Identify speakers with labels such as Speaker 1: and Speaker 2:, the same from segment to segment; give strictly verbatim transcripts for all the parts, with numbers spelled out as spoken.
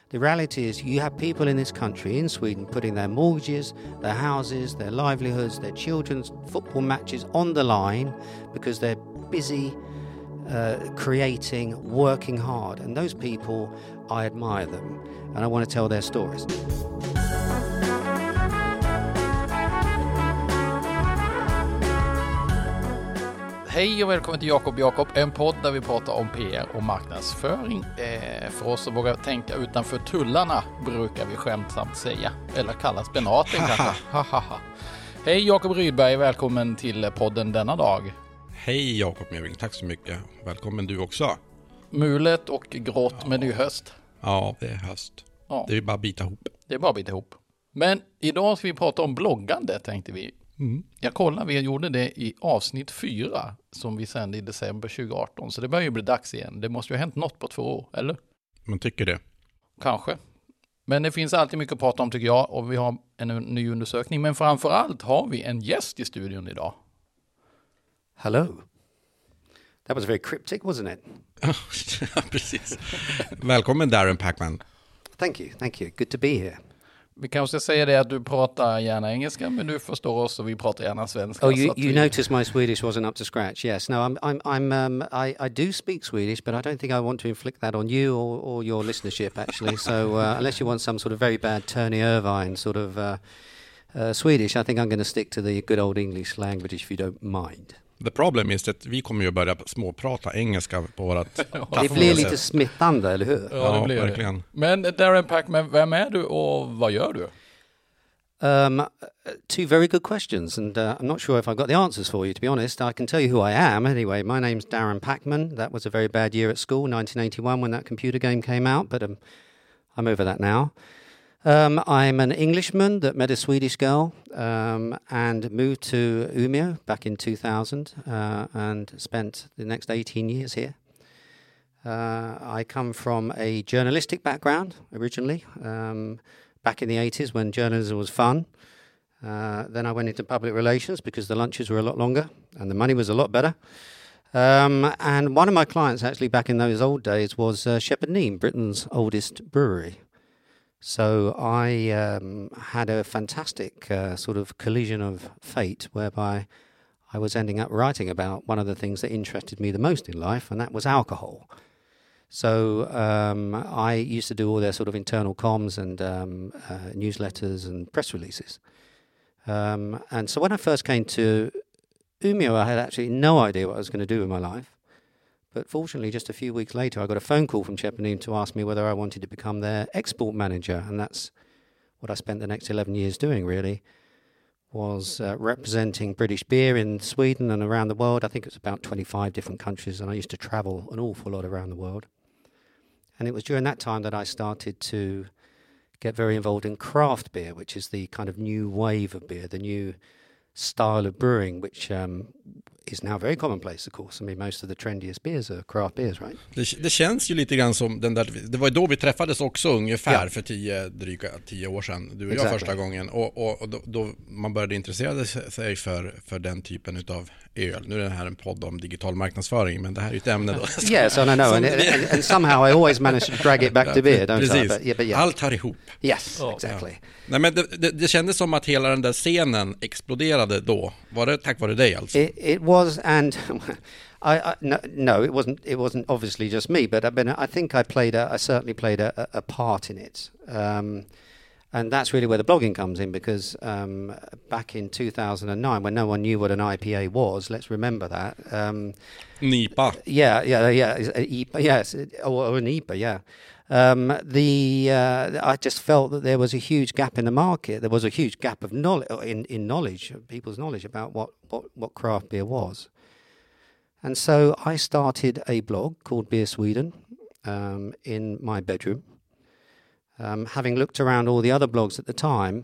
Speaker 1: The reality is you have people in this country, in Sweden, putting their mortgages, their houses, their livelihoods, their children's football matches on the line because they're busy uh, creating, working hard. And those people, I admire them. And I want to tell their stories.
Speaker 2: Hej och välkommen till Jakob Jakob, en podd där vi pratar om P R och marknadsföring. Eh, för oss som vågar tänka utanför tullarna brukar vi skämtsamt säga. Eller kalla spenaten kanske. Hej Jakob Rydberg, välkommen till podden denna dag.
Speaker 3: Hej Jakob Meving, tack så mycket. Välkommen du också.
Speaker 2: Mulet och grått, ja. Men det är ju höst.
Speaker 3: Ja, det är höst. Ja. Det är bara att bita ihop.
Speaker 2: Det är bara att bita ihop. Men idag ska vi prata om bloggande, tänkte vi.
Speaker 3: Mm.
Speaker 2: Jag kollar, vi gjorde det i avsnitt fyra som vi sände i december tjugo arton. Så det börjar ju bli dags igen. Det måste ju ha hänt något på två år, eller?
Speaker 3: Man tycker det.
Speaker 2: Kanske. Men det finns alltid mycket att prata om tycker jag. Och vi har en ny undersökning. Men framförallt har vi en gäst i studion idag.
Speaker 1: Hello. That was very cryptic, wasn't it?
Speaker 3: Ja, precis. Välkommen Darren Packman.
Speaker 1: Thank you, thank you. Good to be here.
Speaker 2: Vi kanske ska säga det att du pratar gärna engelska, men du förstår oss och vi pratar gärna svenska.
Speaker 1: Oh, you, you
Speaker 2: vi...
Speaker 1: noticed my Swedish wasn't up to scratch. Yes, no, I'm, I'm, I'm, um, I, I do speak Swedish, but I don't think I want to inflict that on you or, or your listenership, actually. So, uh, unless you want some sort of very bad Tony Irvine sort of uh, uh, Swedish, I think I'm going to stick to the good old English language, if you don't mind.
Speaker 3: The problem is att vi kommer ju börja småprata engelska på vårat
Speaker 1: Det blir lite smittande, eller hur?
Speaker 2: Ja, det blir
Speaker 3: ja verkligen.
Speaker 2: Det. Men Darren Packman, vem är du och vad gör du?
Speaker 1: Um, two very good questions, and uh, I'm not sure if I've got the answers for you, to be honest. I can tell you who I am. Anyway, my name's Darren Packman. That was a very bad year at school, nineteen eighty-one, when that computer game came out, but um, I'm over that now. Um, I'm an Englishman that met a Swedish girl um, and moved to Umeå back in two thousand uh, and spent the next eighteen years here. Uh, I come from a journalistic background originally, um, back in the eighties when journalism was fun. Uh, then I went into public relations because the lunches were a lot longer and the money was a lot better. Um, and one of my clients actually back in those old days was uh, Shepherd Neame, Britain's oldest brewery. So I um, had a fantastic uh, sort of collision of fate whereby I was ending up writing about one of the things that interested me the most in life, and that was alcohol. So um, I used to do all their sort of internal comms and um, uh, newsletters and press releases. Um, and so when I first came to Umeå, I had actually no idea what I was going to do with my life. But fortunately, just a few weeks later, I got a phone call from Shepherd Neame to ask me whether I wanted to become their export manager. And that's what I spent the next eleven years doing, really, was uh, representing British beer in Sweden and around the world. I think it was about twenty-five different countries, and I used to travel an awful lot around the world. And it was during that time that I started to get very involved in craft beer, which is the kind of new wave of beer, the new style of brewing, which um, is now very commonplace, of course. I mean, most of the trendiest beers are craft beers, right?
Speaker 3: Det, det känns ju lite grann som den där, det var då vi träffades också ungefär ja. för tio, dryga tio år sedan, du och exactly. jag första gången. Och, och, och då, då man började intressera sig för, för den typen av öl. Nu är det här en podd om digital marknadsföring, men det här är ju ett ämne då.
Speaker 1: Yes, and I know, and, and, and somehow I always manage to drag it back to beer, don't
Speaker 3: Precis.
Speaker 1: I? But, yeah, but yeah.
Speaker 3: Allt hör ihop.
Speaker 1: Yes, oh, exactly.
Speaker 3: Ja. Nej, men det, det, det kändes som att hela den där scenen exploderade då. Var det tack vare dig alltså?
Speaker 1: It, it was, and I, I no, no, it wasn't. It wasn't obviously just me, but I mean, I think I played a, I certainly played a, a part in it, um, and that's really where the blogging comes in. Because um, back in two thousand nine, when no one knew what an I P A was, let's remember that. Um,
Speaker 3: N I P A.
Speaker 1: Yeah, yeah, yeah. I P A, yes, or, or an I P A, yeah. Um, the uh, I just felt that there was a huge gap in the market. There was a huge gap of knowledge in, in knowledge, people's knowledge about what, what, what craft beer was. And so I started a blog called Beer Sweden um, in my bedroom, um, having looked around all the other blogs at the time,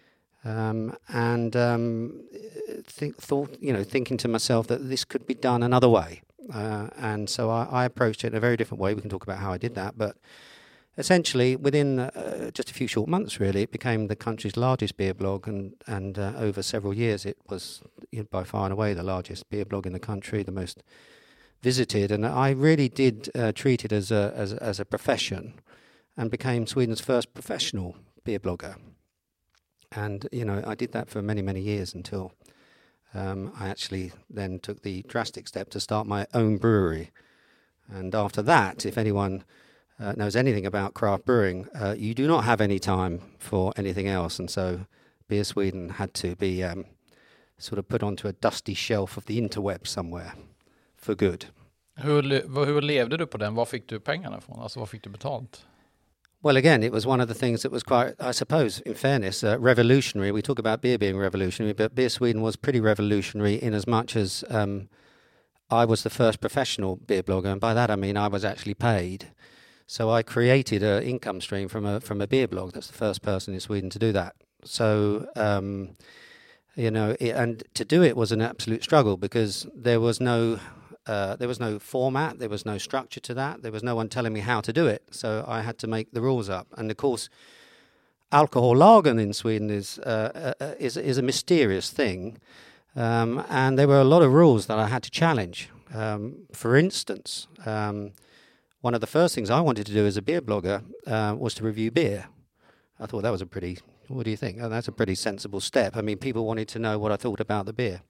Speaker 1: um, and um, th- thought, you know, thinking to myself that this could be done another way. Uh, and so I, I approached it in a very different way. We can talk about how I did that, but essentially, within uh, just a few short months, really, it became the country's largest beer blog, and and uh, over several years, it was you know, by far and away the largest beer blog in the country, the most visited. And I really did uh, treat it as a as, as a profession, and became Sweden's first professional beer blogger. And, you know, I did that for many, many years until um, I actually then took the drastic step to start my own brewery. And after that, if anyone uh, knows anything about craft brewing, uh, you do not have any time for anything else. And so Beer Sweden had to be um, sort of put onto a dusty shelf of the interweb somewhere for good.
Speaker 2: Hur, hur levde du på den? Var fick du pengarna ifrån? Alltså vad fick du betalt?
Speaker 1: Well, again, it was one of the things that was quite, I suppose, in fairness, uh, revolutionary. We talk about beer being revolutionary, but Beer Sweden was pretty revolutionary in as much as um, I was the first professional beer blogger, and by that I mean I was actually paid. So I created an income stream from a from a beer blog. That's the first person in Sweden to do that. So, um, you know, it, and to do it was an absolute struggle because there was no... Uh, there was no format, there was no structure to that, there was no one telling me how to do it, so I had to make the rules up. And of course, alcohollagen in Sweden is uh, uh, is is a mysterious thing, um, and there were a lot of rules that I had to challenge. Um, for instance, um, one of the first things I wanted to do as a beer blogger uh, was to review beer. I thought that was a pretty, what do you think? Oh, that's a pretty sensible step. I mean, people wanted to know what I thought about the beer.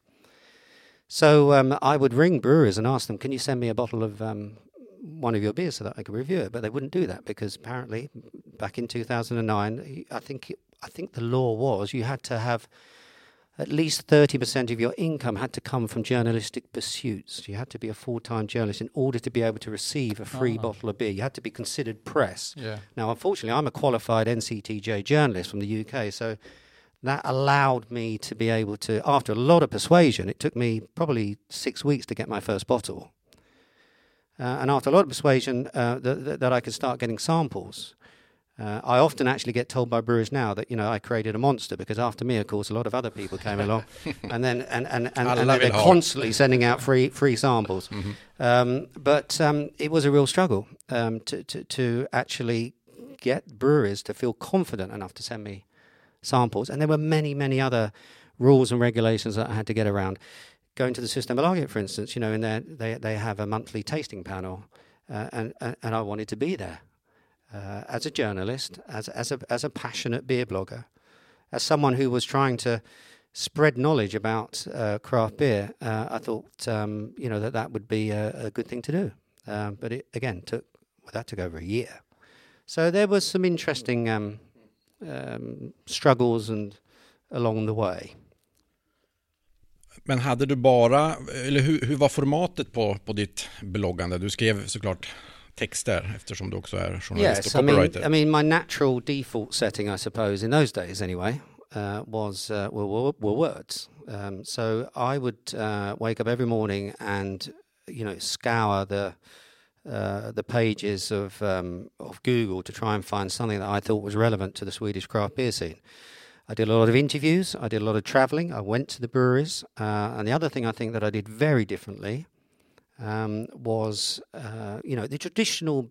Speaker 1: So um, I would ring brewers and ask them, can you send me a bottle of um, one of your beers so that I could review it? But they wouldn't do that because apparently back in two thousand nine, I think it, I think the law was you had to have at least thirty percent of your income had to come from journalistic pursuits. You had to be a full-time journalist in order to be able to receive a free oh. bottle of beer. You had to be considered press.
Speaker 2: Yeah.
Speaker 1: Now, unfortunately, I'm a qualified N C T J journalist from the U K, so... that allowed me to be able to, after a lot of persuasion, it took me probably six weeks to get my first bottle. Uh, and after a lot of persuasion, uh, th- th- that I could start getting samples. Uh, I often actually get told by brewers now that, you know, I created a monster because after me, of course, a lot of other people came along. And then and, and, and, and they're constantly sending out free free samples. Mm-hmm. Um, but um, it was a real struggle um, to, to, to actually get brewers to feel confident enough to send me samples, and there were many, many other rules and regulations that I had to get around. Going to the Systembolaget, for instance, you know, in there they they have a monthly tasting panel, uh, and, and and I wanted to be there uh, as a journalist, as as a as a passionate beer blogger, as someone who was trying to spread knowledge about uh, craft beer. Uh, I thought, um, you know, that that would be a, a good thing to do. Um, but it again took well, that took over a year. So there was some interesting. Um, Um, struggles and along the way.
Speaker 3: Men hade du bara, eller hur, hur var formatet på, på ditt bloggande? Du skrev såklart texter eftersom du också är journalist
Speaker 1: yes,
Speaker 3: och copywriter.
Speaker 1: I mean, I mean, my natural default setting, I suppose, in those days anyway, uh, was uh, were, were, were words. Um, so I would uh, wake up every morning and, you know, scour the Uh, the pages of um, of Google to try and find something that I thought was relevant to the Swedish craft beer scene. I did a lot of interviews, I did a lot of travelling, I went to the breweries, uh, and the other thing I think that I did very differently um, was, uh, you know, the traditional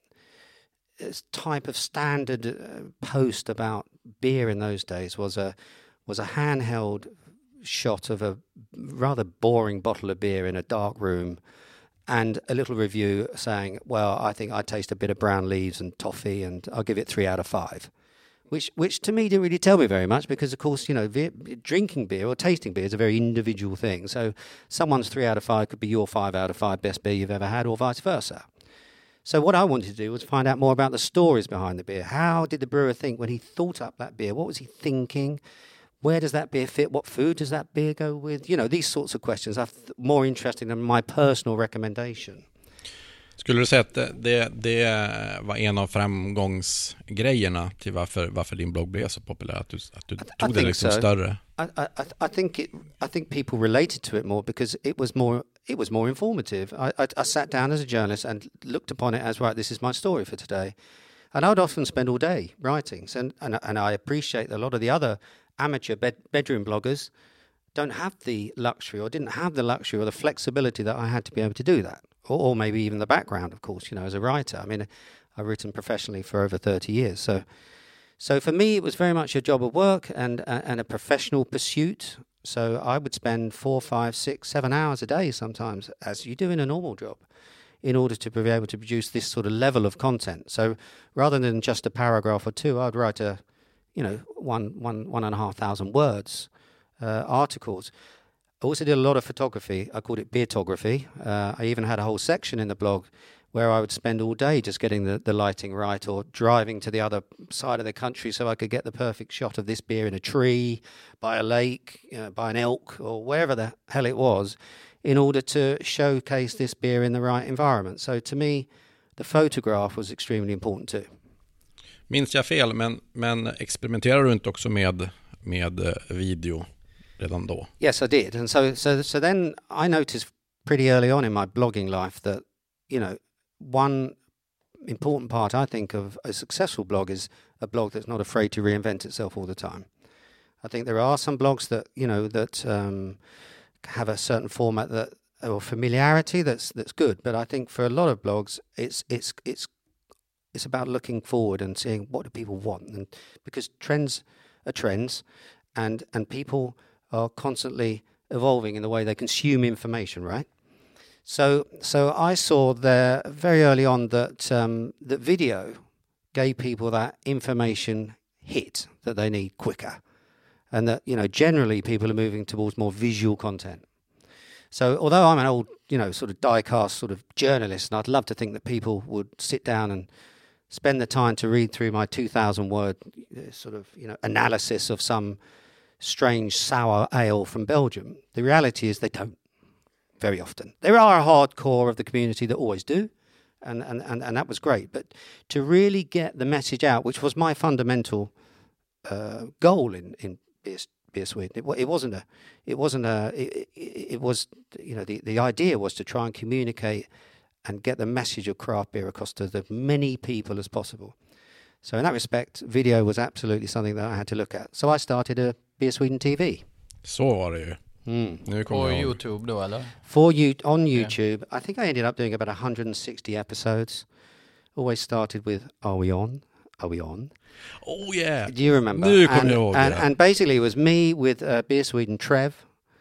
Speaker 1: type of standard uh, post about beer in those days was a was a handheld shot of a rather boring bottle of beer in a dark room, and a little review saying, well, I think I taste a bit of brown leaves and toffee and I'll give it three out of five. Which which to me didn't really tell me very much because, of course, you know, beer, drinking beer or tasting beer is a very individual thing. So someone's three out of five could be your five out of five best beer you've ever had or vice versa. So what I wanted to do was find out more about the stories behind the beer. How did the brewer think when he thought up that beer? What was he thinking? Where does that beer fit? What food does that beer go with? You know, these sorts of questions are th- more interesting than my personal recommendation.
Speaker 3: Skulle du säga att det, det var en av framgångsgrejerna till varför, varför din blogg blev så populär? Att du, att du tog I det liksom so. större?
Speaker 1: I, I, I, think it, I think people related to it more because it was more it was more informative. I, I, I sat down as a journalist and looked upon it as, right, this is my story for today. And I would often spend all day writing. So, and, and I appreciate a lot of the other amateur bed, bedroom bloggers don't have the luxury or didn't have the luxury or the flexibility that I had to be able to do that. Or, or maybe even the background, of course, you know, as a writer. I mean, I've written professionally for over thirty years. So so for me, it was very much a job of work and, uh, and a professional pursuit. So I would spend four, five, six, seven hours a day sometimes, as you do in a normal job, in order to be able to produce this sort of level of content. So rather than just a paragraph or two, I'd write a, you know, one, one, one and a half thousand words uh, articles. I also did a lot of photography. I called it beertography. Uh, I even had a whole section in the blog where I would spend all day just getting the, the lighting right, or driving to the other side of the country so I could get the perfect shot of this beer in a tree, by a lake, you know, by an elk, or wherever the hell it was, in order to showcase this beer in the right environment. So to me, the photograph was extremely important too.
Speaker 3: Minns jag fel, men, men experimenterar du inte också med, med video redan då?
Speaker 1: Yes, I did. And so, so, so then I noticed pretty early on in my blogging life that, you know, one important part, I think, of a successful blog is a blog that's not afraid to reinvent itself all the time. I think there are some blogs that, you know, that um, have a certain format that, or familiarity that's that's good. But I think for a lot of blogs, it's it's it's it's about looking forward and seeing what do people want, and because trends are trends, and and people are constantly evolving in the way they consume information, right? So, so I saw there very early on that um, that video gave people that information hit that they need quicker, and that, you know, generally people are moving towards more visual content. So, although I'm an old, you know, sort of die-cast sort of journalist, and I'd love to think that people would sit down and spend the time to read through my two thousand word sort of, you know, analysis of some strange sour ale from Belgium, the reality is they don't. Very often. There are a hardcore of the community that always do, and, and, and, and that was great. But to really get the message out, which was my fundamental uh, goal in, in Beer, Beer Sweden, it, it wasn't a, it wasn't a, it, it, it was, you know, the, the idea was to try and communicate and get the message of craft beer across to as many people as possible. So in that respect, video was absolutely something that I had to look at. So I started a Beer Sweden T V.
Speaker 3: Så var det ju.
Speaker 2: Mm. På YouTube då, eller?
Speaker 1: For you on YouTube, yeah. I think I ended up doing about one hundred sixty episodes. Always started with, "Are we on? Are we on?"
Speaker 3: Oh yeah.
Speaker 1: Do you remember?
Speaker 3: Nu
Speaker 1: and,
Speaker 3: jag ihåg
Speaker 1: and,
Speaker 3: det.
Speaker 1: and basically it was me with uh, Beer Sweden Trev.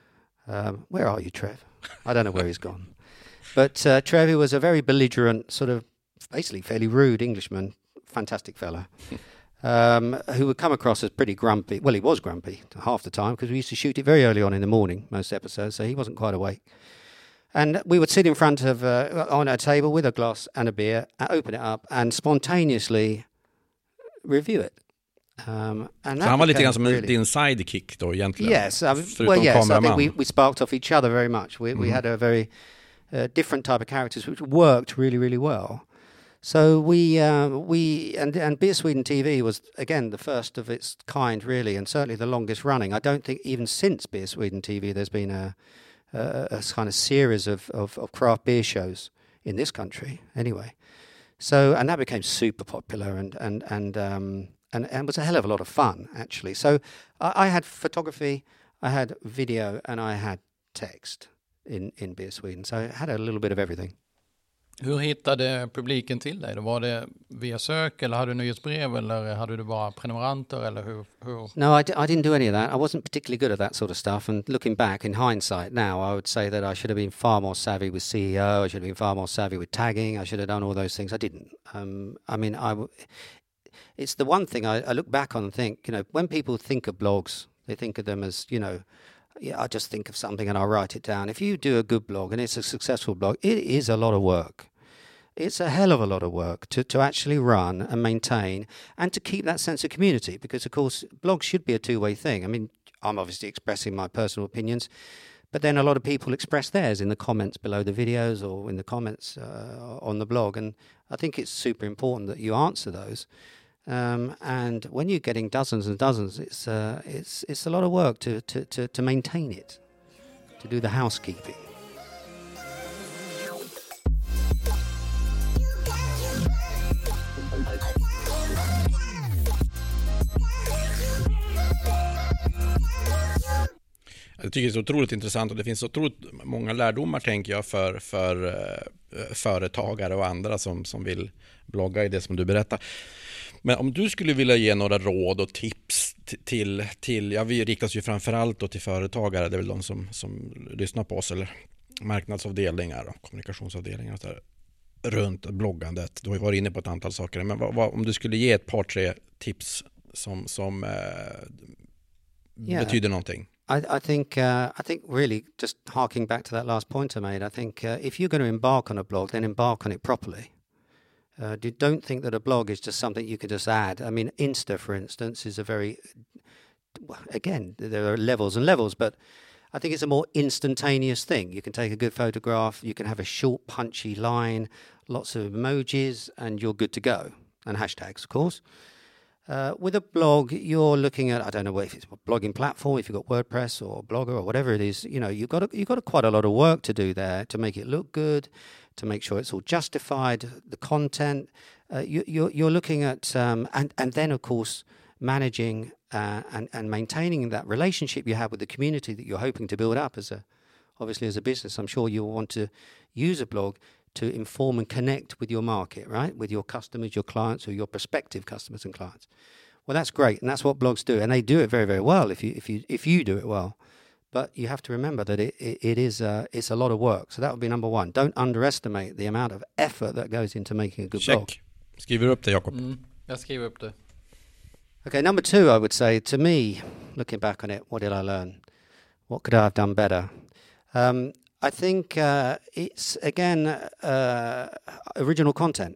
Speaker 1: Um, where are you, Trev? I don't know where he's gone. But uh, Trev, who was a very belligerent, sort of basically fairly rude Englishman, fantastic fella. Um, who would come across as pretty grumpy. Well, he was grumpy half the time because we used to shoot it very early on in the morning, most episodes, so he wasn't quite awake. And we would sit in front of, uh, on a table with a glass and a beer, open it up and spontaneously review it. Um, and
Speaker 3: så han var lite grann som
Speaker 1: really,
Speaker 3: din sidekick då egentligen?
Speaker 1: Yes, I mean, well yes, I think we, we sparked off each other very much. We, mm. we had a very uh, different type of characters which worked really, really well. So we uh, we and and Beer Sweden T V was again the first of its kind, really, and certainly the longest running. I don't think even since Beer Sweden T V there's been a a, a kind of series of, of, of craft beer shows in this country, anyway. So and that became super popular and and and um, and, and was a hell of a lot of fun actually. So I, I had photography, I had video, and I had text in in Beer Sweden. So I had a little bit of everything.
Speaker 2: Hur hittade publiken till dig? Var det via sök eller hade du nyhetsbrev eller hade du bara prenumeranter eller hur? hur?
Speaker 1: No, I, d- I didn't do any of that. I wasn't particularly good at that sort of stuff. And looking back in hindsight now, I would say that I should have been far more savvy with C E O. I should have been far more savvy with tagging. I should have done all those things. I didn't. Um, I mean, I w- it's the one thing I, I look back on and think, you know, when people think of blogs, they think of them as, you know, yeah, I just think of something and I'll write it down. If you do a good blog and it's a successful blog, it is a lot of work. It's a hell of a lot of work to, to actually run and maintain and to keep that sense of community because, of course, blogs should be a two-way thing. I mean, I'm obviously expressing my personal opinions, but then a lot of people express theirs in the comments below the videos or in the comments uh, on the blog. And I think it's super important that you answer those. Um, and when you're getting dozens and dozens, it's uh, it's it's a lot of work to, to, to, to maintain it, to do the housekeeping.
Speaker 3: Jag tycker det är så otroligt intressant och det finns så otroligt många lärdomar tänker jag för, för uh, företagare och andra som, som vill blogga i det som du berättar. Men om du skulle vilja ge några råd och tips t- till, till, ja vi riktas ju framförallt då till företagare, det är väl de som, som lyssnar på oss eller marknadsavdelningar och kommunikationsavdelningar och så där. runt bloggandet? Du har ju varit inne på ett antal saker, men vad, vad, om du skulle ge ett par, tre tips som, som eh, yeah. betyder någonting?
Speaker 1: I, I think uh, I think really just harking back to that last point I made, I think uh, if you're going to embark on a blog, then embark on it properly. Uh, do, don't think that a blog is just something you can just add. I mean, Insta, for instance, is a very, again, there are levels and levels, but I think it's a more instantaneous thing. You can take a good photograph, you can have a short, punchy line, lots of emojis, and you're good to go. And hashtags, of course. Uh, with a blog, you're looking at, I don't know if it's a blogging platform, if you've got WordPress or Blogger or whatever it is, you know, you've got, a, you've got a, quite a lot of work to do there to make it look good, to make sure it's all justified, the content. Uh, you, you're, you're looking at, um, and, and then, of course, managing uh, and, and maintaining that relationship you have with the community that you're hoping to build up as a, obviously as a business. I'm sure you'll want to use a blog to inform and connect with your market, right? With your customers, your clients, or your prospective customers and clients. Well, that's great, and that's what blogs do, and they do it very, very well if you if you if you do it well. But you have to remember that it it, it is uh, it's a lot of work. So that would be number one. Don't underestimate the amount of effort that goes into making a good
Speaker 3: Check.
Speaker 1: blog.
Speaker 3: Skriver upp det, Jakob?
Speaker 2: Mm, jag skriver upp det.
Speaker 1: Okay, number two, I would say, to me, looking back on it, what did I learn? What could I have done better? Um, I think uh, it's, again, uh, original content.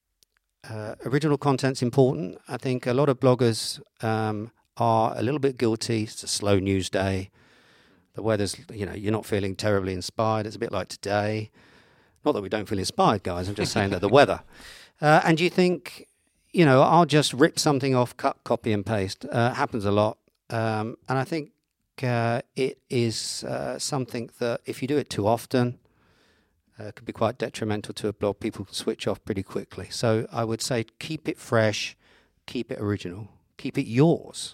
Speaker 1: Uh, original content's important. I think a lot of bloggers um, are a little bit guilty. It's a slow news day. The weather's, you know, you're not feeling terribly inspired. It's a bit like today. Not that we don't feel inspired, guys. I'm just saying that the weather. Uh, and you think, you know, I'll just rip something off, cut, copy and paste. Uh, happens a lot. Um, and I think Uh, it is uh, something that if you do it too often, uh, could be quite detrimental to a blog. People switch off pretty quickly. So I would say keep it fresh, keep it original, keep it yours.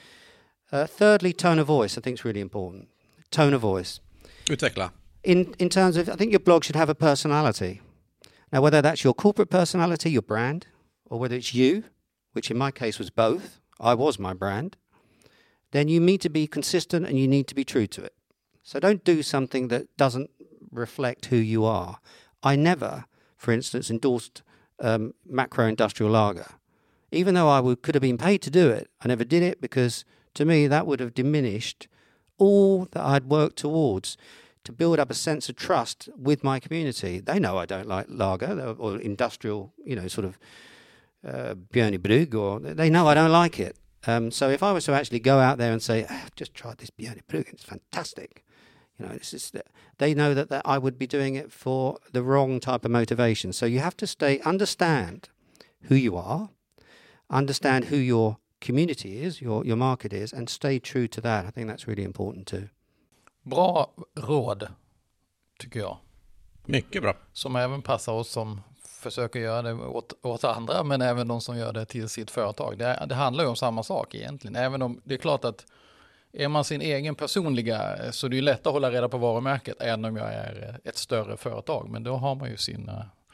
Speaker 1: Uh, thirdly, tone of voice I think is really important. Tone of voice.
Speaker 3: Utveckla.
Speaker 1: In, in terms of, I think your blog should have a personality. Now, whether that's your corporate personality, your brand, or whether it's you, which in my case was both, I was my brand, then you need to be consistent and you need to be true to it. So don't do something that doesn't reflect who you are. I never, for instance, endorsed um, macro-industrial lager. Even though I would, could have been paid to do it, I never did it because, to me, that would have diminished all that I'd worked towards to build up a sense of trust with my community. They know I don't like lager or industrial, you know, sort of uh, Björnebrygg, or they know I don't like it. Um, so if I was to actually go out there and say, ah, just tried this Björnebrygg, it's fantastic, you know, this is the, they know that, that I would be doing it for the wrong type of motivation. So you have to stay, understand who you are, understand who your community is, your your market is, and stay true to that. I think that's really important too.
Speaker 2: Bra råd, tycker jag.
Speaker 3: Mycket bra.
Speaker 2: Som även passar oss som försöker göra det åt, åt andra, men även de som gör det till sitt företag. Det, det handlar ju om samma sak egentligen. Även om det är klart att är man sin egen personliga, så det är ju lätt att hålla reda på varumärket än om jag är ett större företag. Men då har man ju sin,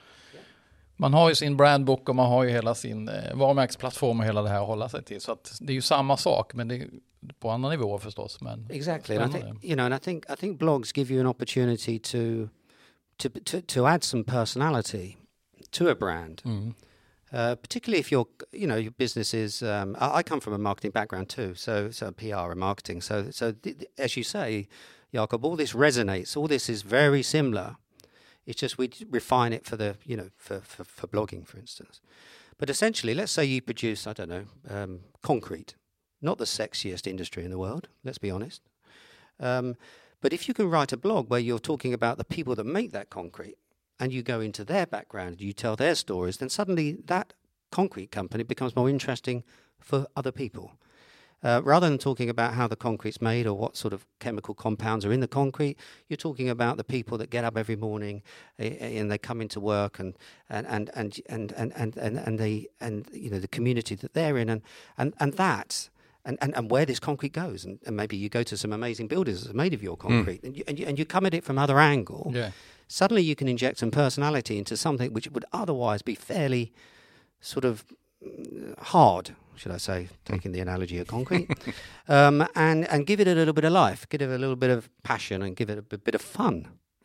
Speaker 2: man har ju sin brandbook och man har ju hela sin varumärkesplattform och hela det här att hålla sig till. Så att det är ju samma sak, men det är på andra nivåer förstås. Men
Speaker 1: exactly. And I think, you know, and I think I think blogs give you an opportunity to to to, to add some personality to a brand, mm. uh, particularly if your, you know, your business is. Um, I, I come from a marketing background too, so so P R and marketing. So so th- th- as you say, Jakob, all this resonates. All this is very similar. It's just we refine it for the, you know, for, for, for blogging, for instance. But essentially, let's say you produce, I don't know, um, concrete, not the sexiest industry in the world. Let's be honest. Um, but if you can write a blog where you're talking about the people that make that concrete, and you go into their background, you tell their stories, then suddenly that concrete company becomes more interesting for other people. Uh, rather than talking about how the concrete's made or what sort of chemical compounds are in the concrete, you're talking about the people that get up every morning uh, and they come into work and and and and and and and, and, and they and you know the community that they're in and and and that. And, and, and where this concrete goes, and, and maybe you go to some amazing builders that are made of your concrete, mm. and, you, and, you, and you come at it from other angle.
Speaker 2: Yeah.
Speaker 1: Suddenly you can inject some personality into something which would otherwise be fairly sort of hard, should I say, taking the analogy of concrete, um, and, and give it a little bit of life, give it a little bit of passion, and give it a bit of fun.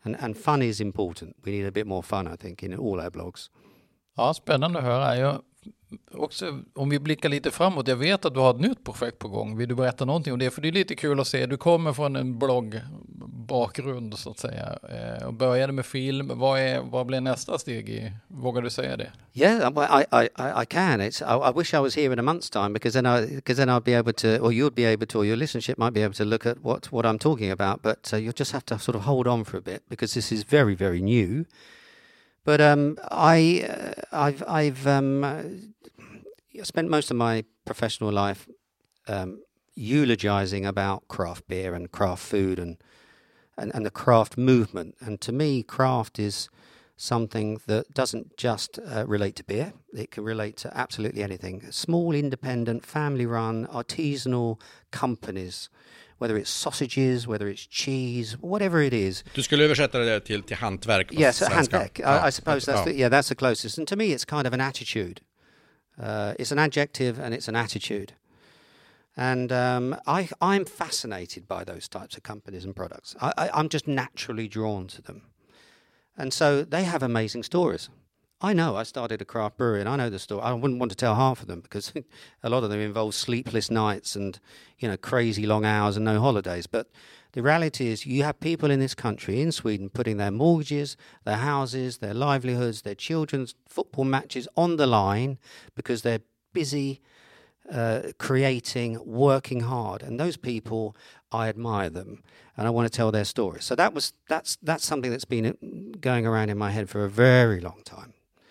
Speaker 1: And, and fun is important. We need a bit more fun, I think, in all our blogs.
Speaker 2: Ja, spännande att höra. Jag, också, om vi blickar lite framåt, jag vet att du har ett nytt projekt på gång. Vill du berätta någonting om det? För det är lite kul att se. Du kommer från en bloggbakgrund så att säga. Eh, och började med film. Vad, är, vad blir nästa steg i? Vågar du säga det?
Speaker 1: Yeah, well, I, I, I can. It's, I, I wish I was here in a month's time because then, I, because then I'd be able to, or you'd be able to, or your listenership might be able to look at what, what I'm talking about. But uh, you'll just have to sort of hold on for a bit because this is very, very new. But um, I, uh, I've, I've um, uh, spent most of my professional life um, eulogizing about craft beer and craft food and, and, and the craft movement. And to me, craft is something that doesn't just uh, relate to beer. It can relate to absolutely anything. Small, independent, family-run, artisanal companies, whether it's sausages, whether it's cheese, whatever it is.
Speaker 3: Du skulle översätta det till, till hantverk på
Speaker 1: yes,
Speaker 3: svenska.
Speaker 1: Hantverk.
Speaker 3: Ja.
Speaker 1: I, I suppose that's,
Speaker 3: ja.
Speaker 1: the, yeah, that's the closest. And to me, it's kind of an attitude. Uh, it's an adjective and it's an attitude. And um, I, I'm fascinated by those types of companies and products. I, I, I'm just naturally drawn to them. And so they have amazing stories. I know I started a craft brewery and I know the story. I wouldn't want to tell half of them because a lot of them involve sleepless nights and, you know, crazy long hours and no holidays. But the reality is you have people in this country, in Sweden, putting their mortgages, their houses, their livelihoods, their children's football matches on the line because they're busy uh, creating, working hard. And those people, I admire them. And I want to tell their stories. So that was that's that's something that's been going around in my head for a very long time.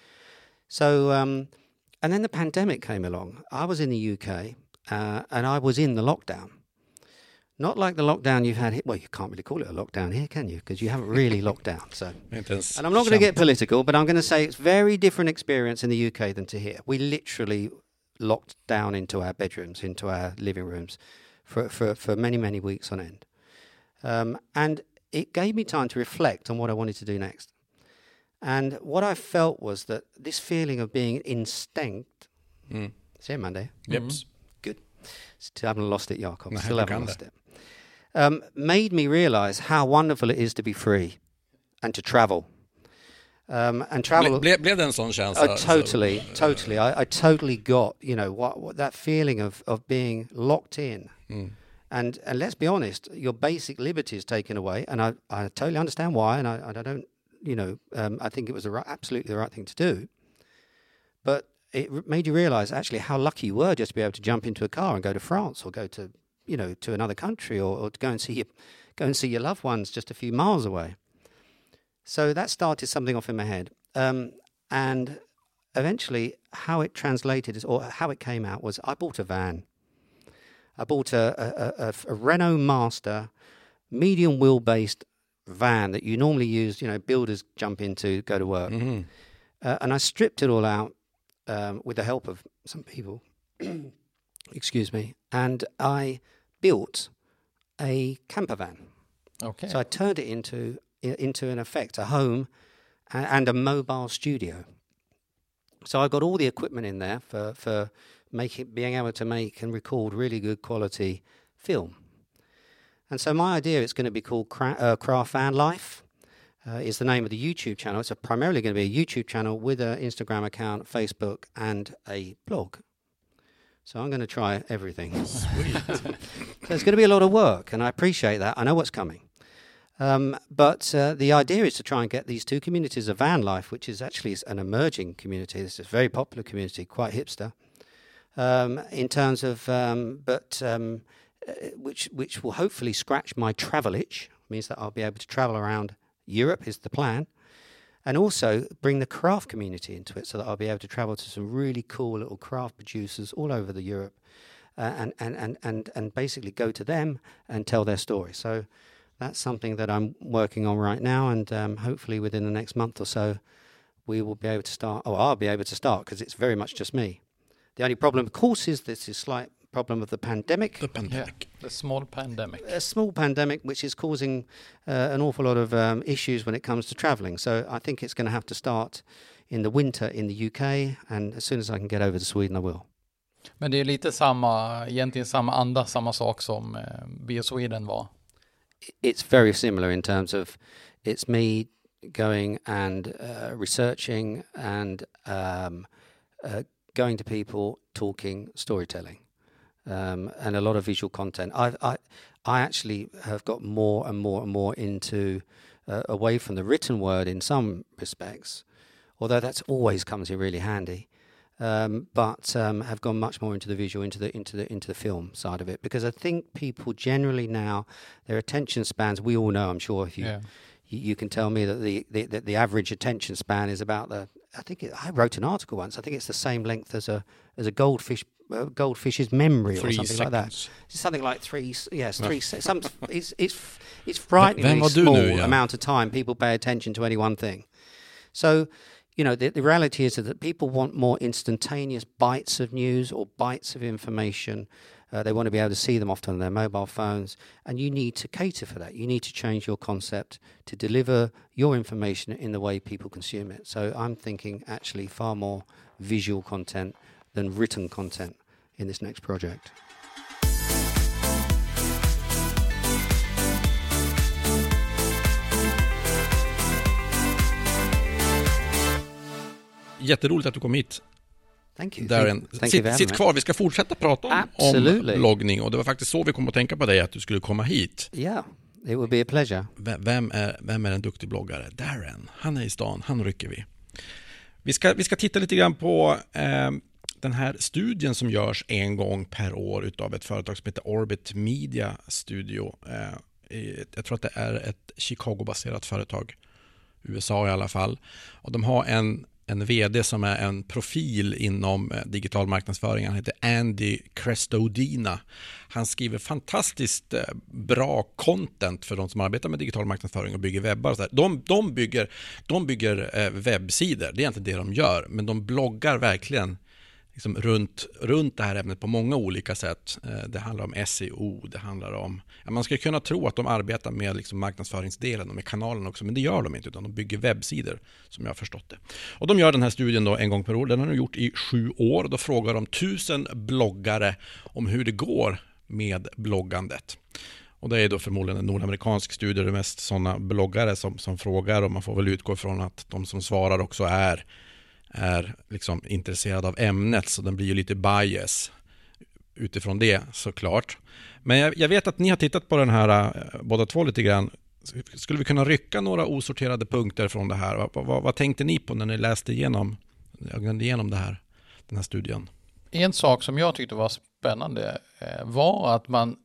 Speaker 1: So um, and then the pandemic came along. I was in the U K uh, and I was in the lockdown. Not like the lockdown you've had here. Well, you can't really call it a lockdown here, can you? Because you haven't really locked down. So, and I'm not going to get political, but I'm going to say it's very different experience in the U K than to here. We literally locked down into our bedrooms, into our living rooms for for, for many, many weeks on end. Um, and it gave me time to reflect on what I wanted to do next. And what I felt was that this feeling of being instinct... Mm. See you Monday?
Speaker 3: Yep.
Speaker 1: Mm. Good. Still haven't lost it, Jakob. No, Still haven't lost it. Um, made me realise how wonderful it is to be free and to travel. Um, and travel...
Speaker 3: Ble, blev det en sån känsla?
Speaker 1: Uh, totally, so, totally. I, I totally got, you know, what, what that feeling of, of being locked in. Mm. And and let's be honest, your basic liberty is taken away, and I, I totally understand why, and I, I don't, you know, um, I think it was the right, absolutely the right thing to do. But it made you realise actually how lucky you were just to be able to jump into a car and go to France or go to, you know, to another country or, or to go and see your, go and see your loved ones just a few miles away. So that started something off in my head, um, and eventually how it translated is, or how it came out was I bought a van. I bought a, a, a, a Renault Master medium wheel-based van that you normally use, you know, builders jump into, go to work. Mm-hmm. Uh, and I stripped it all out um, with the help of some people, excuse me, and I built a camper van.
Speaker 2: Okay.
Speaker 1: So I turned it into, into in effect, a home and a mobile studio. So I got all the equipment in there for... for Making, being able to make and record really good quality film. And so my idea, it's going to be called Cra- uh, Craft Van Life, uh, is the name of the YouTube channel. It's a primarily going to be a YouTube channel with an Instagram account, Facebook, and a blog. So I'm going to try everything. Sweet. So it's going to be a lot of work, and I appreciate that. I know what's coming. Um, but uh, the idea is to try and get these two communities of van life, which is actually an emerging community. This is a very popular community, quite hipster. Um, in terms of, um, but um, uh, which which will hopefully scratch my travel itch, means that I'll be able to travel around Europe is the plan, and also bring the craft community into it, so that I'll be able to travel to some really cool little craft producers all over the Europe, uh, and, and and and and basically go to them and tell their story. So that's something that I'm working on right now, and um, hopefully within the next month or so, we will be able to start. Oh, I'll be able to start because it's very much just me. The only problem, of course, is this is slight problem of the pandemic.
Speaker 3: The pandemic.
Speaker 2: Yeah, the small pandemic.
Speaker 1: A small pandemic, which is causing uh, an awful lot of um, issues when it comes to travelling. So I think it's going to have to start in the winter in the U K, and as soon as I can get over to Sweden, I will.
Speaker 2: Men det är lite samma, egentligen samma anda, samma sak som eh, Bio Sweden var.
Speaker 1: it's very similar in terms of it's me going and uh, researching and um, uh, going to people, talking, storytelling, um, and a lot of visual content. I I I actually have got more and more and more into uh, away from the written word in some respects, although that's always comes in really handy. Um, but um, have gone much more into the visual, into the into the into the film side of it, because I think people generally now, their attention spans. We all know, I'm sure, if you yeah. you, you can tell me that the, the that the average attention span is about the. I think it, I wrote an article once. I think it's the same length as a as a goldfish uh, goldfish's memory
Speaker 3: three
Speaker 1: or something
Speaker 3: seconds.
Speaker 1: like that. It's something like three. Yes, three. some. It's it's it's frighteningly small
Speaker 3: nu, ja.
Speaker 1: amount of time people pay attention to any one thing. So. You know, the, the reality is that people want more instantaneous bites of news or bites of information. Uh, they want to be able to see them often on their mobile phones, and you need to cater for that. You need to change your concept to deliver your information in the way people consume it. So I'm thinking actually far more visual content than written content in this next project.
Speaker 3: Jätteroligt att du kom hit.
Speaker 1: Thank you.
Speaker 3: Darren.
Speaker 1: Thank, thank
Speaker 3: sitt,
Speaker 1: you
Speaker 3: sitt kvar, vi ska fortsätta prata om, om bloggning, och det var faktiskt så vi kom att tänka på dig, att du skulle komma hit.
Speaker 1: Ja, yeah, it would be a pleasure.
Speaker 3: Vem är, vem är en duktig bloggare? Darren. Han är i stan, han rycker vi. Vi ska, vi ska titta lite grann på eh, den här studien som görs en gång per år utav ett företag som heter Orbit Media Studio. Eh, jag tror att det är ett Chicago-baserat företag, U S A i alla fall. Och de har en en vd som är en profil inom digital marknadsföring. Han heter Andy Crestodina. Han skriver fantastiskt bra content för de som arbetar med digital marknadsföring och bygger webbar. Och så där. De, de bygger, de bygger webbsidor, det är inte det de gör. Men de bloggar verkligen liksom runt, runt det här ämnet på många olika sätt. Det handlar om S E O, det handlar om... Ja, man ska kunna tro att de arbetar med liksom marknadsföringsdelen och med kanalen också, men det gör de inte, utan de bygger webbsidor, som jag har förstått det. Och de gör den här studien då en gång per år, den har de gjort i sju år. Då frågar de tusen bloggare om hur det går med bloggandet. Och det är då förmodligen en nordamerikansk studie, det är mest sådana bloggare som, som frågar, och man får väl utgå från att de som svarar också är är liksom intresserad av ämnet, så den blir ju lite bias utifrån det, såklart. Men jag, jag vet att ni har tittat på den här båda två lite grann. Skulle vi kunna rycka några osorterade punkter från det här? Vad, vad, vad tänkte ni på när ni läste igenom, igenom det här, den här studien?
Speaker 2: En sak som jag tyckte var spännande var att man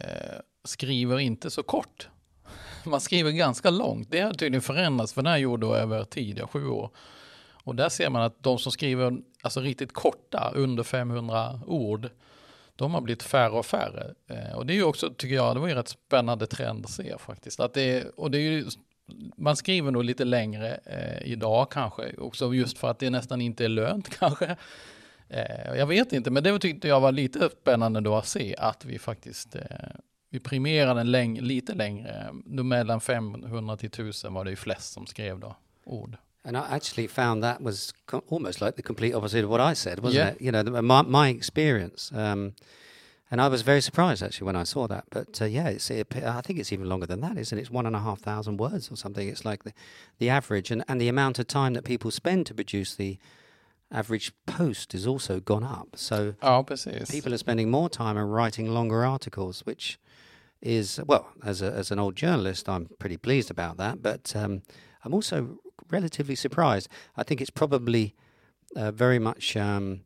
Speaker 2: skriver inte så kort. Man skriver ganska långt. Det har tydligen förändrats, för den här gjorde då över tid, sju år. Och där ser man att de som skriver alltså riktigt korta, under femhundra ord, de har blivit färre och färre. Eh, och det är ju också, tycker jag, det var ju rätt spännande trend att se faktiskt. Att det, och det är ju, man skriver nog lite längre eh, idag kanske, också just för att det nästan inte är lönt kanske. Eh, jag vet inte, men det tyckte jag var lite spännande då att se att vi faktiskt... Eh, vi primerade den läng- lite längre. Mellan femhundra till tusen var det ju flest som skrev då ord.
Speaker 1: And I actually found that was co- almost like the complete opposite of what I said, wasn't
Speaker 2: yeah.
Speaker 1: it? You know, the, my, my experience. Um, and I was very surprised, actually, when I saw that. But, uh, yeah, it's, it, I think it's even longer than that, isn't it? It's one and a half thousand words or something. It's like the, the average. And, and the amount of time that people spend to produce the average post has also gone up. So
Speaker 2: ja, precis.
Speaker 1: People are spending more time on writing longer articles, which is, well, as, a, as an old journalist, I'm pretty pleased about that. But um, I'm also... relatively surprised. I think it's probably uh, very much um,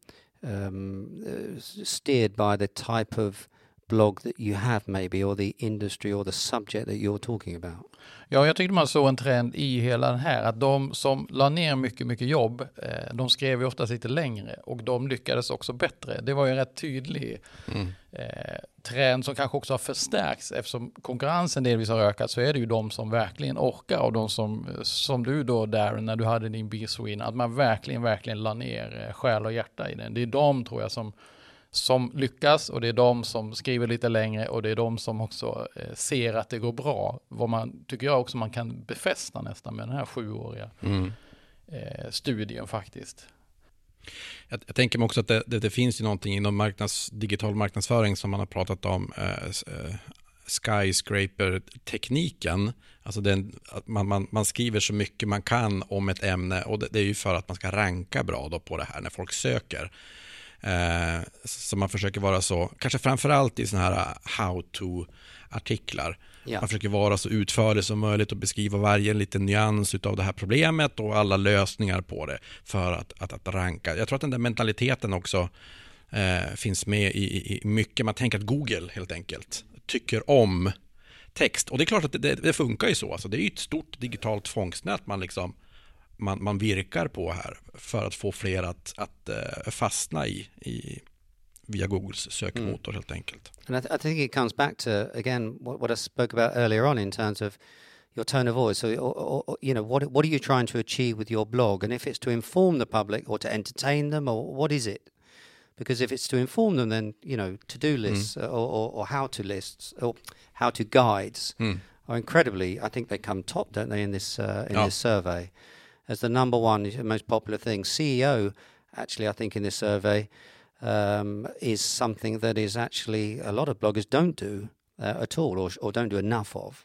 Speaker 1: um, uh, steered by the type of blog that you have maybe, or the industry or the subject that you're talking about.
Speaker 2: Ja, jag tyckte man såg en trend i hela den här, att de som la ner mycket, mycket jobb, eh, de skrev ju oftast lite längre, och de lyckades också bättre. Det var ju en rätt tydlig mm. eh, trend som kanske också har förstärkts, eftersom konkurrensen delvis har ökat, så är det ju de som verkligen orkar, och de som, som du då Darren, när du hade din B-Sweden, att man verkligen, verkligen la ner eh, själ och hjärta i den. Det är de, tror jag, som som lyckas, och det är de som skriver lite längre, och det är de som också eh, ser att det går bra. Vad man tycker jag också man kan befästa nästan med den här sjuåriga mm. eh, studien faktiskt.
Speaker 3: Jag, jag tänker mig också att det, det, det finns ju någonting inom marknads, digital marknadsföring som man har pratat om, eh, skyscraper-tekniken. Alltså den, att man, man, man skriver så mycket man kan om ett ämne, och det, det är ju för att man ska ranka bra då på det här när folk söker. Eh, så man försöker vara så, kanske framförallt i såna här how-to-artiklar. Ja. Man försöker vara så utförlig som möjligt och beskriva varje liten nyans av det här problemet och alla lösningar på det för att, att, att ranka. Jag tror att den där mentaliteten också eh, finns med i, i, i mycket. Man tänker att Google helt enkelt tycker om text. Och det är klart att det, det funkar ju så. Alltså, det är ju ett stort digitalt fångstnät man, liksom, man, man virkar på här för att få fler att, att uh, fastna i, i via Googles sökmotor mm. helt enkelt.
Speaker 1: And I, th- I think it comes back to, again, what, what I spoke about earlier on in terms of your tone of voice. So, or, or, you know, what what are you trying to achieve with your blog? And if it's to inform the public or to entertain them, or what is it? Because if it's to inform them, then, you know, to-do lists mm. or, or, or how-to lists or how-to guides mm. are incredibly, I think they come top, don't they, in this uh, in oh. this survey as the number one most popular thing. C E O, actually, I think in this survey, um, is something that is actually a lot of bloggers don't do uh, at all, or, or don't do enough of.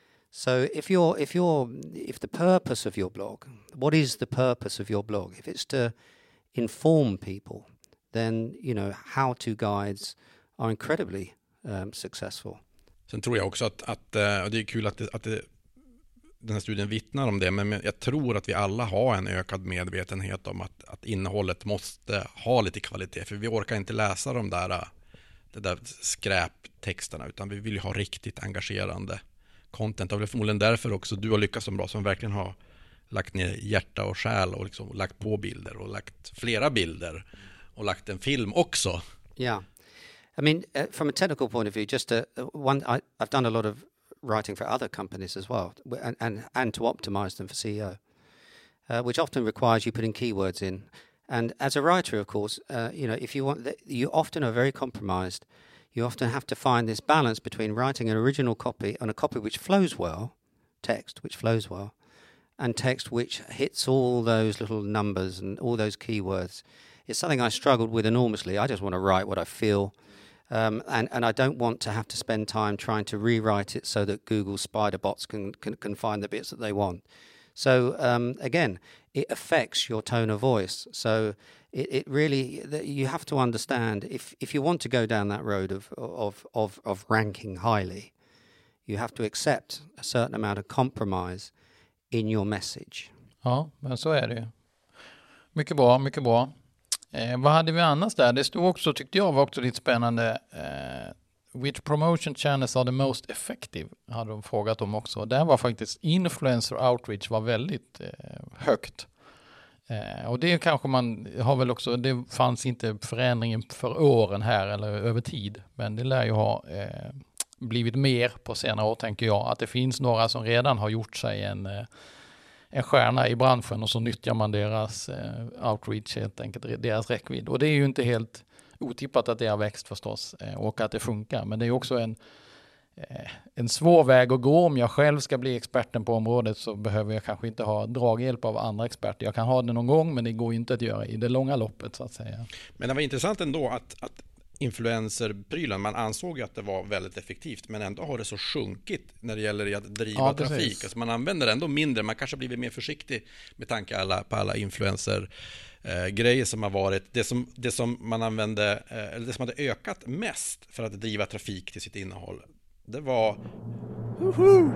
Speaker 1: So if you're if you're if the purpose of your blog, what is the purpose of your blog? If it's to inform people, then, you know, how-to guides are incredibly um, successful.
Speaker 3: Sen tror jag också att, att och det är kul att, det, att det, den här studien vittnar om det, men jag tror att vi alla har en ökad medvetenhet om att, att innehållet måste ha lite kvalitet, för vi orkar inte läsa de där, de där skräptexterna, utan vi vill ju ha riktigt engagerande content. Och det är förmodligen därför också du har lyckats så bra, som verkligen har lagt ner hjärta och själ och liksom lagt på bilder och lagt flera bilder och lagt en film också.
Speaker 1: Yeah. I mean, uh, from a technical point of view, just a, one, I, I've done a lot of writing for other companies as well, and, and, and to optimize them for C E O, uh, which often requires you putting keywords in. And as a writer, of course, uh, you know, if you want, you often are very compromised. You often have to find this balance between writing an original copy and a copy which flows well, text which flows well, and text which hits all those little numbers and all those keywords. It's something I struggled with enormously. I just want to write what I feel. Um, and, and I don't want to have to spend time trying to rewrite it so that Google spider bots can, can, can find the bits that they want. So, um, again, it affects your tone of voice. So it, it really, you have to understand, if, if you want to go down that road of, of, of, of ranking highly, you have to accept a certain amount of compromise in your message.
Speaker 2: Ja, men så är det ju. Mycket bra, mycket bra. Eh, vad hade vi annars där? Det stod också, tyckte jag var också lite spännande. Eh, which promotion channels are the most effective? Hade de frågat om också. Där var faktiskt influencer outreach var väldigt eh, högt. Eh, och det kanske man har väl också, det fanns inte förändringen för åren här eller över tid. Men det lär ju ha eh, blivit mer på senare år, tänker jag. Att det finns några som redan har gjort sig en... Eh, en stjärna i branschen, och så nyttjar man deras eh, outreach, helt enkelt deras räckvidd. Och det är ju inte helt otippat att det har växt förstås eh, och att det funkar. Men det är också en, eh, en svår väg att gå. Om jag själv ska bli experten på området så behöver jag kanske inte ha draghjälp av andra experter. Jag kan ha det någon gång, men det går inte att göra i det långa loppet, så att säga.
Speaker 3: Men det var intressant ändå att, att influencerprylen, man ansåg ju att det var väldigt effektivt, men ändå har det så sjunkit när det gäller att driva ja, trafik. Alltså man använder ändå mindre, man kanske blivit mer försiktig med tanke alla, på alla influencer eh, grejer som har varit. Det som, det som man använde, eh, eller det som hade ökat mest för att driva trafik till sitt innehåll, det var Woohoo!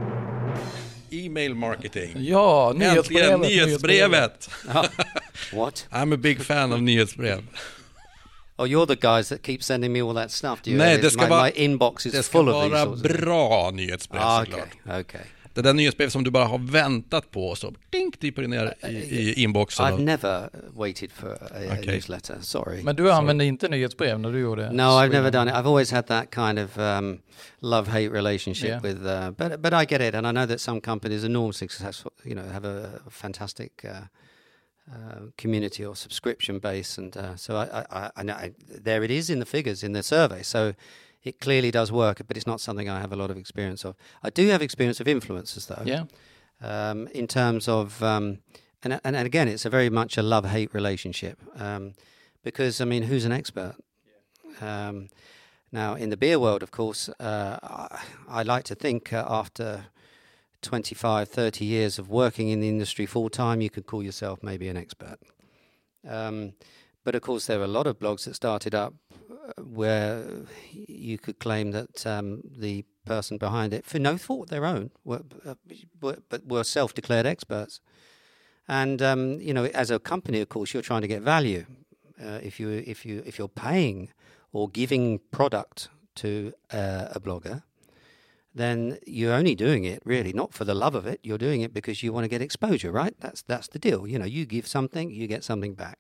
Speaker 3: E-mail marketing.
Speaker 2: Ja, nyhetsbrevet.
Speaker 3: Äntligen nyhetsbrevet.
Speaker 1: What?
Speaker 3: I'm a big fan of nyhetsbrev.
Speaker 1: Oh, you're the guys that keep sending me all that stuff. Do you?
Speaker 3: Nej, det ska
Speaker 1: my,
Speaker 3: vara,
Speaker 1: my inbox is
Speaker 3: det ska
Speaker 1: full of
Speaker 3: vara
Speaker 1: these
Speaker 3: bra nyhetsbrev,
Speaker 1: ah,
Speaker 3: såklart.
Speaker 1: Okay, okay.
Speaker 3: Det där nyhetsbrev som du bara har väntat på, så dink, dyper ner i, i inboxen.
Speaker 1: I've never waited for a, a
Speaker 3: okay.
Speaker 1: newsletter, sorry.
Speaker 2: Men du använde inte nyhetsbrev när du gjorde?
Speaker 1: No, I've never done it. I've always had that kind of um, love-hate relationship yeah. with, uh, but but I get it, and I know that some companies are enormously successful, you know, have a fantastic uh, uh, community or subscription base, and uh, so I, I, I know I, there it is in the figures in the survey, so it clearly does work, but it's not something I have a lot of experience of. I do have experience of influencers, though.
Speaker 2: Yeah.
Speaker 1: Um, in terms of, um, and, and and again, it's a very much a love-hate relationship, um, because I mean, who's an expert? Um, Now, in the beer world, of course, uh, I, I like to think uh, after twenty-five, thirty years of working in the industry full time, you could call yourself maybe an expert. Um, but of course, there are a lot of blogs that started up where you could claim that um, the person behind it, for no fault of their own, were, uh, were, but were self-declared experts. And um, you know, as a company, of course, you're trying to get value. Uh, if you if you if you're paying or giving product to uh, a blogger, then you're only doing it really not for the love of it. You're doing it because you want to get exposure, right? That's that's the deal. You know, you give something, you get something back.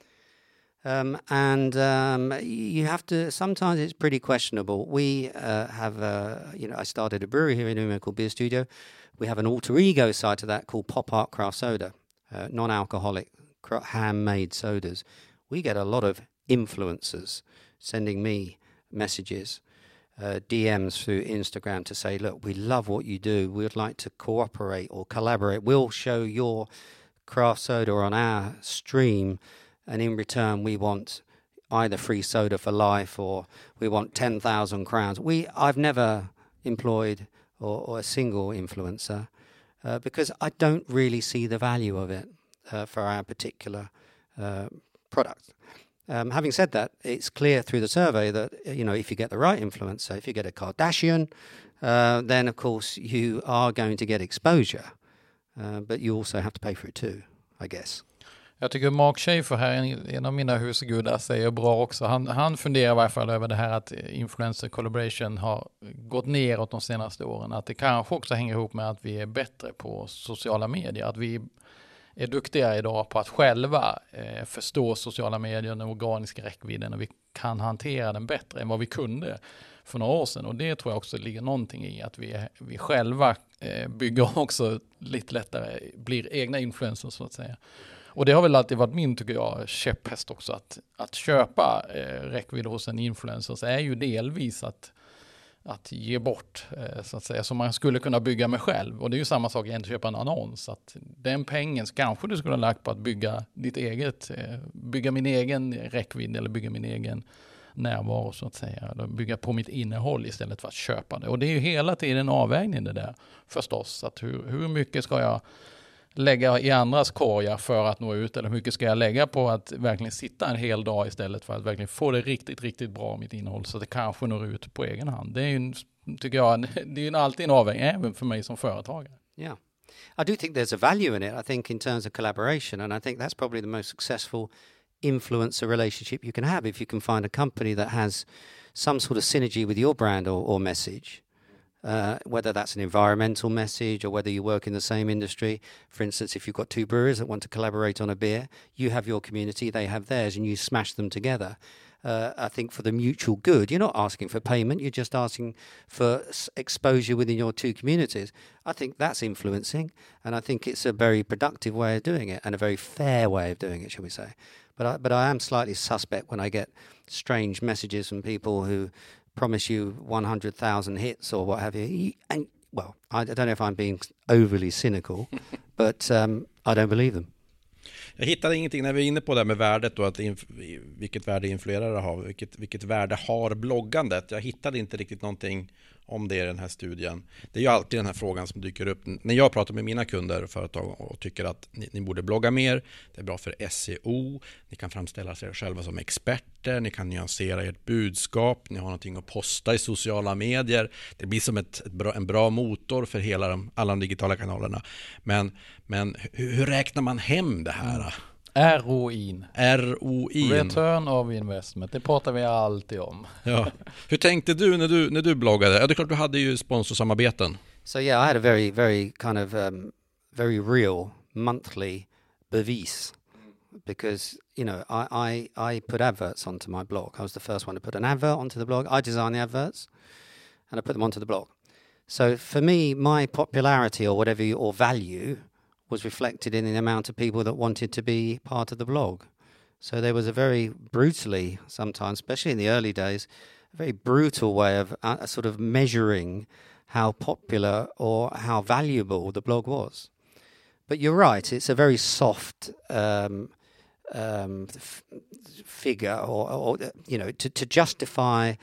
Speaker 1: Um, and um, you have to. Sometimes it's pretty questionable. We uh, have, uh, you know, I started a brewery here in Umeå called Beer Studio. We have an alter ego side to that called Pop Art Craft Soda, uh, non-alcoholic, handmade sodas. We get a lot of influencers sending me messages, uh, D Ms through Instagram to say, look, we love what you do. We'd like to cooperate or collaborate. We'll show your craft soda on our stream, and in return we want either free soda for life or we want ten thousand crowns. We, I've never employed or, or a single influencer uh, because I don't really see the value of it uh, for our particular uh, product. Um, having said that, it's clear through the survey that, you know, if you get the right influencer, if you get a Kardashian, uh, then of course you are going to get exposure. Uh, but you also have to pay for it too, I guess.
Speaker 2: Jag tycker Mark Schaefer här, en av mina husgudar, säger bra också. Han, han funderar i varje fall över det här att influencer collaboration har gått neråt de senaste åren. Att det kanske också hänger ihop med att vi är bättre på sociala medier. Att vi är duktigare idag på att själva eh, förstå sociala medier, den organiska räckvidden, och vi kan hantera den bättre än vad vi kunde för några år sedan. Och det tror jag också ligger någonting i att vi, vi själva eh, bygger också lite lättare, blir egna influencers så att säga. Och det har väl alltid varit min, tycker jag, käpphäst också, att, att köpa eh, räckvidd hos en influencer så är ju delvis att att ge bort, eh, så att säga, som man skulle kunna bygga med själv. Och det är ju samma sak att köpa en annons. Att den pengen kanske du skulle ha lagt på att bygga ditt eget, eh, bygga min egen räckvidd eller bygga min egen närvaro så att säga. Eller bygga på mitt innehåll istället för att köpa det. Och det är ju hela tiden en avvägning det där förstås. Att hur, hur mycket ska jag lägga i andras korgar för att nå ut, eller hur mycket ska jag lägga på att verkligen sitta en hel dag istället för att verkligen få det riktigt, riktigt bra mitt innehåll så att det kanske når ut på egen hand. Det är ju, tycker jag, det är ju alltid en avvägning även för mig som företagare.
Speaker 1: Yeah. I do think there's a value in it, I think, in terms of collaboration, and I think that's probably the most successful influencer relationship you can have if you can find a company that has some sort of synergy with your brand or, or message. Uh, whether that's an environmental message or whether you work in the same industry. For instance, if you've got two brewers that want to collaborate on a beer, you have your community, they have theirs, and you smash them together. Uh, I think for the mutual good, you're not asking for payment, you're just asking for s- exposure within your two communities. I think that's influencing, and I think it's a very productive way of doing it and a very fair way of doing it, shall we say. But I, but I am slightly suspect when I get strange messages from people who promise you one hundred thousand hits or what have you. And, well, I don't know if I'm being overly cynical, but um, I don't believe them.
Speaker 3: Jag hittade ingenting när vi är inne på det med värdet och att inf- vilket värde influerare har, vilket, vilket värde har bloggandet. Jag hittade inte riktigt någonting om det i den här studien. Det är ju alltid den här frågan som dyker upp när jag pratar med mina kunder och företag och tycker att ni, ni borde blogga mer. Det är bra för S E O. Ni kan framställa er själva som experter. Ni kan nyansera ert budskap. Ni har någonting att posta i sociala medier. Det blir som ett, ett bra, en bra motor för hela de, alla de digitala kanalerna. Men, men hur, hur räknar man hem det här? Mm.
Speaker 2: R O I.
Speaker 3: R O I.
Speaker 2: Return of investment. Det pratar vi alltid om.
Speaker 3: Ja. Hur tänkte du när du när du bloggade? Ja, det är klart du hade ju sponsorsamarbeten.
Speaker 1: So yeah, I had a very very kind of um, very real monthly bevis because you know I, I I put adverts onto my blog. I was the first one to put an advert onto the blog. I designed the adverts and I put them onto the blog. So for me, my popularity or whatever or value was reflected in the amount of people that wanted to be part of the blog. So there was a very brutally, sometimes, especially in the early days, a very brutal way of uh, sort of measuring how popular or how valuable the blog was. But you're right, it's a very soft um, um, f- figure or, or, you know, to, to justify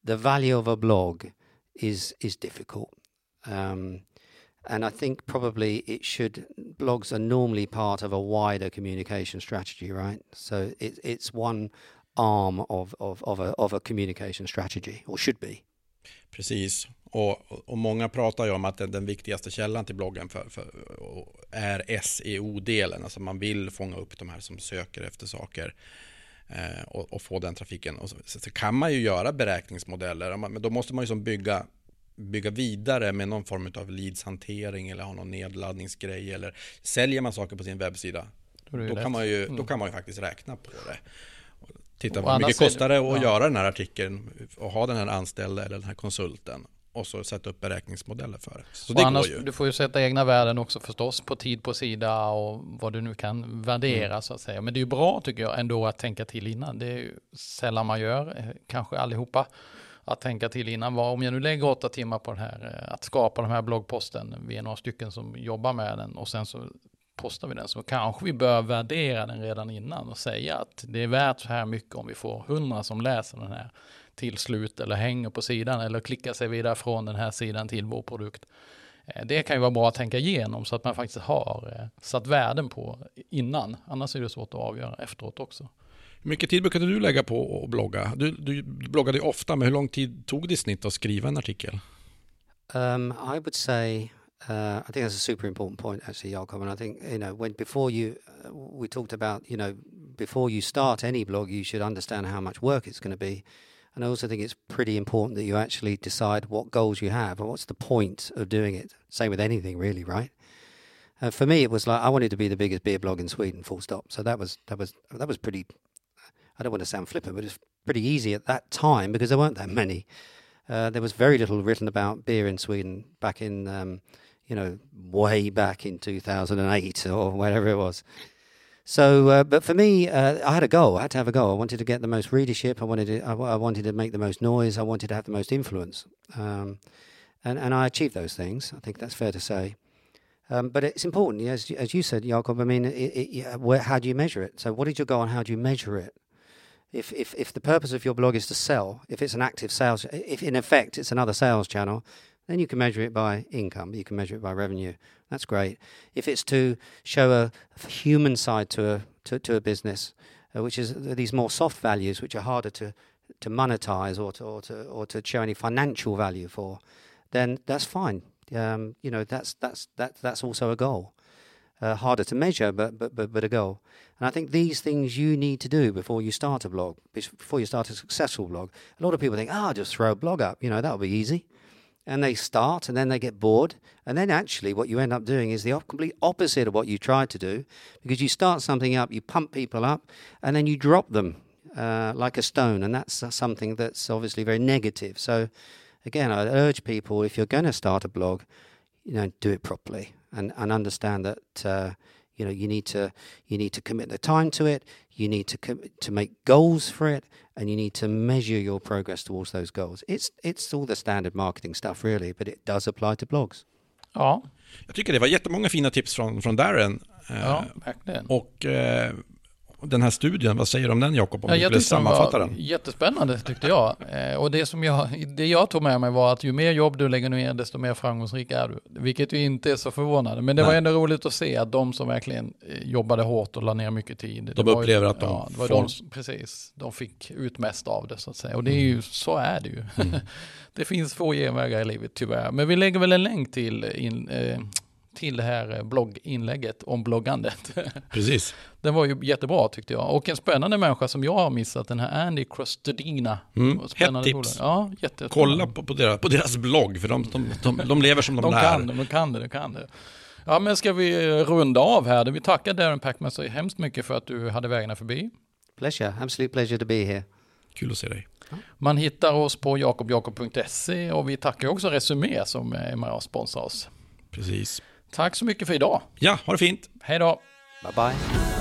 Speaker 1: the value of a blog is is difficult. Um, and I think probably it should, blogs are normally part of a wider communication strategy, right? So it, it's one arm of, of, of, a, of a communication strategy, or should be.
Speaker 3: Precis. Och, och många pratar ju om att den, den viktigaste källan till bloggen för, för, är S E O-delen. Alltså man vill fånga upp de här som söker efter saker eh, och, och få den trafiken. Och så, så kan man ju göra beräkningsmodeller, men då måste man ju som bygga bygga vidare med någon form av leadshantering eller ha någon nedladdningsgrej, eller säljer man saker på sin webbsida, då, då kan man ju mm. då kan man ju faktiskt räkna på det. Titta på hur mycket kostar det att ja. göra den här artikeln och ha den här anställda eller den här konsulten, och så sätta upp beräkningsmodeller för det. Så det
Speaker 2: annars,
Speaker 3: går ju.
Speaker 2: Du får ju sätta egna värden också förstås, på tid på sida och vad du nu kan värdera mm. så att säga. Men det är ju bra tycker jag ändå att tänka till innan. Det är ju sällan man gör, kanske allihopa, att tänka till innan. Vad, om jag nu lägger åtta timmar på det här, att skapa den här bloggposten, vi är några stycken som jobbar med den och sen så postar vi den, så kanske vi bör värdera den redan innan och säga att det är värt så här mycket om vi får hundra som läser den här till slut, eller hänger på sidan eller klickar sig vidare från den här sidan till vår produkt. Det kan ju vara bra att tänka igenom så att man faktiskt har satt värden på innan. Annars är det svårt att avgöra efteråt också.
Speaker 3: Hur mycket tid brukade du lägga på att blogga? Du, du bloggade ju ofta, men hur lång tid tog det i snitt att skriva en artikel?
Speaker 1: Um, I would say Uh, I think that's a super important point, actually, Jakob. And I think, you know, when before you, uh, we talked about, you know, before you start any blog, you should understand how much work it's going to be. And I also think it's pretty important that you actually decide what goals you have and what's the point of doing it. Same with anything, really, right? Uh, for me, it was like I wanted to be the biggest beer blog in Sweden, full stop. So that was that was that was pretty. I don't want to sound flippant, but it's pretty easy at that time because there weren't that many. Uh, there was very little written about beer in Sweden back in. Um, you know, way back in two thousand eight or whatever it was. So, uh, but for me, uh, I had a goal. I had to have a goal. I wanted to get the most readership. I wanted to, I, I wanted to make the most noise. I wanted to have the most influence. Um, and, and I achieved those things. I think that's fair to say. Um, but it's important, as, as you said, Jakob, I mean, it, it, where, how do you measure it? So what is your goal and how do you measure it? If, if, if the purpose of your blog is to sell, if it's an active sales, if in effect it's another sales channel, then you can measure it by income. You can measure it by revenue. That's great. If it's to show a human side to a to, to a business, uh, which is these more soft values, which are harder to to monetize or to or to or to show any financial value for, then that's fine. Um, you know, that's that's that that's also a goal. Uh, harder to measure, but but but but a goal. And I think these things you need to do before you start a blog, before you start a successful blog. A lot of people think, oh, just throw a blog up. You know, that'll be easy. And they start, and then they get bored. And then actually what you end up doing is the op- complete opposite of what you tried to do, because you start something up, you pump people up, and then you drop them uh, like a stone. And that's uh, something that's obviously very negative. So again, I urge people, if you're going to start a blog, you know, do it properly and, and understand that, uh, you know, you need to you need to commit the time to it. You need to com- to make goals for it, and you need to measure your progress towards those goals. It's it's all the standard marketing stuff really, but it does apply to blogs.
Speaker 2: Ja.
Speaker 3: Jag tycker det var jättemånga fina tips från från Darren.
Speaker 2: Ja, verkligen.
Speaker 3: Och eh, den här studien, vad säger du om den, Jakob, om
Speaker 2: ja,
Speaker 3: du skulle sammanfatta den?
Speaker 2: Jättespännande tyckte jag. Eh, och det som jag, det jag tog med mig var att ju mer jobb du lägger ner, desto mer framgångsrik är du. Vilket ju inte är så förvånande. Men det Nej. var ändå roligt att se att de som verkligen jobbade hårt och la ner mycket tid.
Speaker 3: De upplever ju, att de
Speaker 2: ja, det var
Speaker 3: får...
Speaker 2: de, precis, de fick ut mest av det så att säga. Och det är ju, så är det ju. Mm. Det finns få genvägar i livet tyvärr. Men vi lägger väl en länk till in, eh, till det här blogginlägget om bloggandet.
Speaker 3: Precis.
Speaker 2: Den var ju jättebra tyckte jag. Och en spännande människa som jag har missat, den här Andy Crostodina.
Speaker 3: Mm. Hett tips.
Speaker 2: Ja, jättespännande.
Speaker 3: Kolla på, på, deras, på deras blogg, för de, de, de, de lever som de,
Speaker 2: de
Speaker 3: lär.
Speaker 2: Kan, de kan det, de kan det. Ja, men ska vi runda av här? Vi tackar Darren Packman så hemskt mycket för att du hade vägarna förbi.
Speaker 1: Pleasure, absolute pleasure to be here.
Speaker 3: Kul att se dig.
Speaker 2: Man hittar oss på jakob jakob punkt se och vi tackar också Resumé som är med och sponsrar oss.
Speaker 3: Precis.
Speaker 2: Tack så mycket för idag.
Speaker 3: Ja, ha det fint.
Speaker 2: Hej då.
Speaker 1: Bye bye.